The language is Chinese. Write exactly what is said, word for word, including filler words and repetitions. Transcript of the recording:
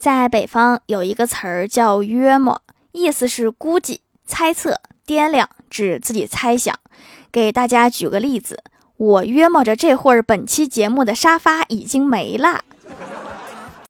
在北方有一个词儿叫约摸，意思是估计、猜测、掂量，指自己猜想。给大家举个例子，我约摸着这会儿本期节目的沙发已经没了。